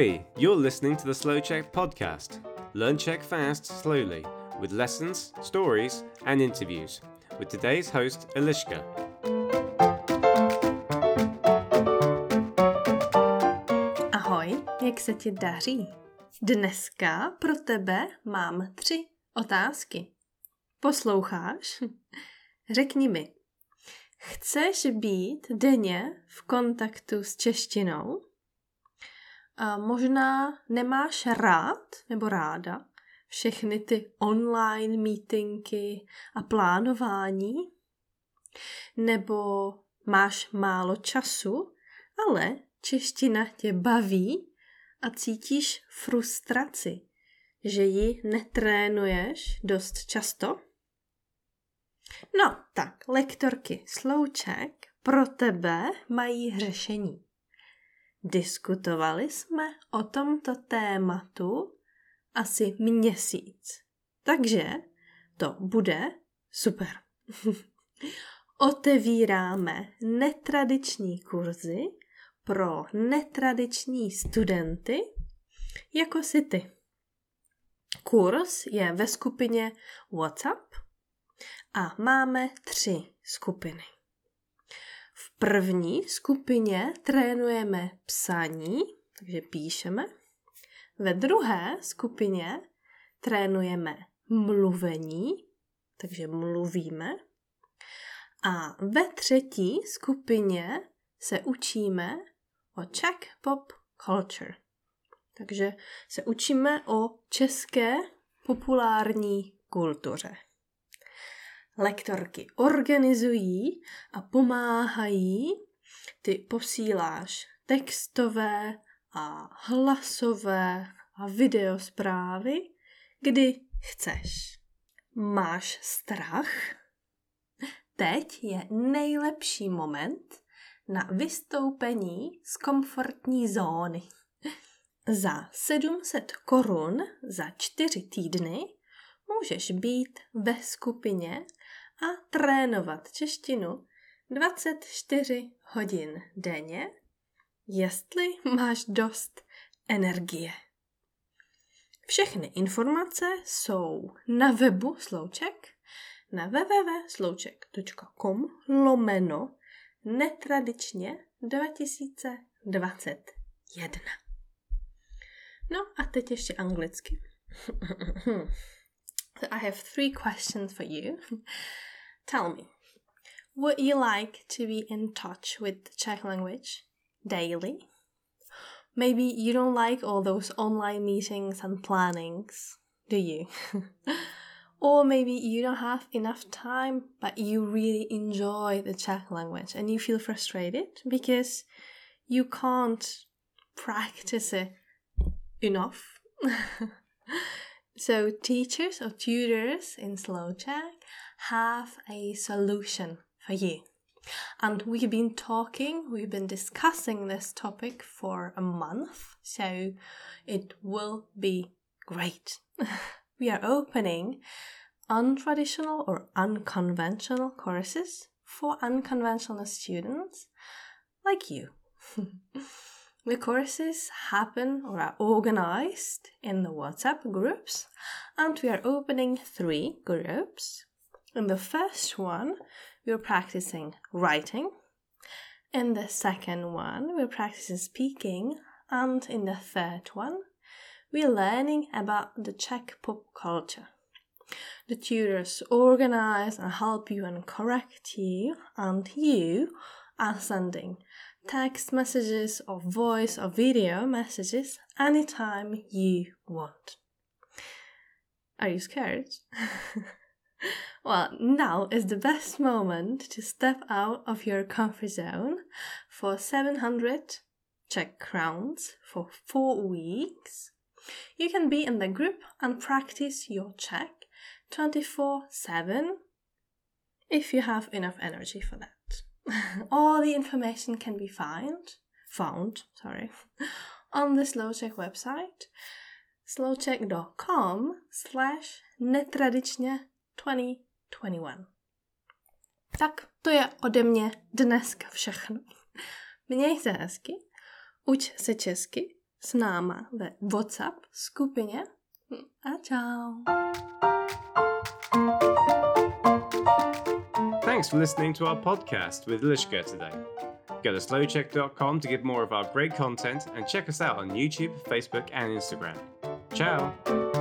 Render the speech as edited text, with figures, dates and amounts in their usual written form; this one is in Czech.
Ahoy! You're listening to the Slow Czech podcast. Learn Czech fast, slowly, with lessons, stories, and interviews. With today's host, Eliška. Ahoj, jak se ti daří? Dneska pro tebe mám 3 otázky. Posloucháš? Řekni mi, chceš být denně v kontaktu s češtinou? A možná nemáš rád nebo ráda všechny ty online meetingy a plánování? Nebo máš málo času, ale čeština tě baví a cítíš frustraci, že ji netrénuješ dost často? No, tak, lektorky Slow Czech pro tebe mají řešení. Diskutovali jsme o tomto tématu asi měsíc, takže to bude super. Otevíráme netradiční kurzy pro netradiční studenty, jako jsi ty. Kurz je ve skupině WhatsApp a máme 3 skupiny. V první skupině trénujeme psaní, takže píšeme. Ve druhé skupině trénujeme mluvení, takže mluvíme. A ve třetí skupině se učíme o Czech pop culture. Takže se učíme o české populární kultuře. Lektorky organizují a pomáhají, ty posíláš textové a hlasové a videosprávy, kdy chceš. Máš strach? Teď je nejlepší moment na vystoupení z komfortní zóny. Za 700 korun za 4 týdny můžeš být ve skupině a trénovat češtinu 24 hodin denně, jestli máš dost energie. Všechny informace jsou na webu Slow Czech na www.slowczech.com/netradičně 2021. No a teď ještě anglicky. So I have 3 questions for you. Tell me, would you like to be in touch with the Czech language daily? Maybe you don't like all those online meetings and plannings, do you? Or maybe you don't have enough time, but you really enjoy the Czech language and you feel frustrated because you can't practice it enough. So teachers or tutors in Slow Czech have a solution for you. And we've been discussing this topic for a month, so it will be great. We are opening untraditional or unconventional courses for unconventional students like you. The courses happen or are organized in the WhatsApp groups, and we are opening 3 groups. In the first one, we're practicing writing. In the second one, we're practicing speaking. And in the third one, we're learning about the Czech pop culture. The tutors organize and help you and correct you, and you are sending text messages or voice or video messages anytime you want. Are you scared? Well, now is the best moment to step out of your comfort zone for 700 Czech crowns for 4 weeks. You can be in the group and practice your Czech 24/7 if you have enough energy for that. All the information can be found on the Slow Czech website slowczech.com/netradičně 2021. Tak to je ode mě dneska všechno. Měj se hezky, uč se česky, s náma ve WhatsApp skupině. A čau. Thanks for listening to our podcast with Lishka today. Go to slowcheck.com to get more of our great content and check us out on YouTube, Facebook, and Instagram. Ciao!